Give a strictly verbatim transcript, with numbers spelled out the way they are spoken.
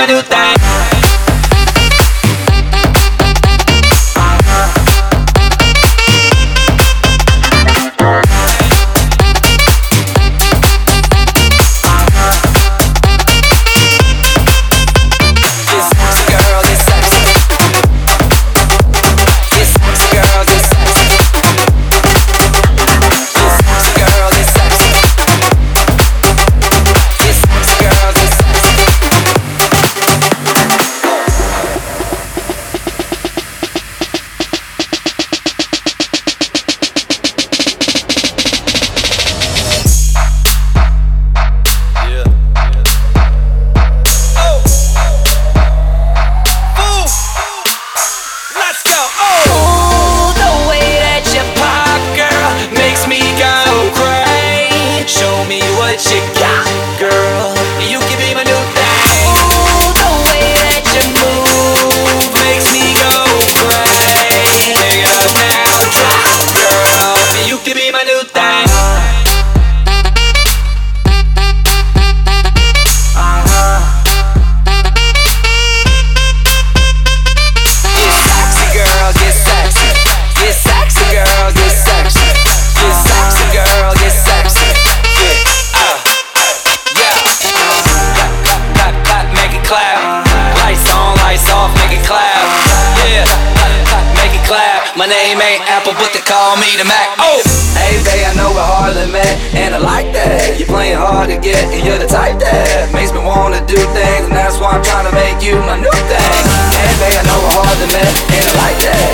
my new thing. What you got, girl? You can be my new thing. Ooh, the way that you move makes me go crazy. Take it up now, drop, girl. You can be my new thing. Uh-huh. Get sexy, girl, get sexy. Get sexy, girl, get sexy. Get sexy, girl, get sexy. Lights on, lights off, make it clap. Yeah, make it clap. My name ain't Apple, but they call me the Mac. Oh, hey babe, I know we're hardly met, and I like that. You're playing hard to get, and you're the type that makes me wanna do things, and that's why I'm trying to make you my new thing. Hey babe, I know we're hardly met, and I like that.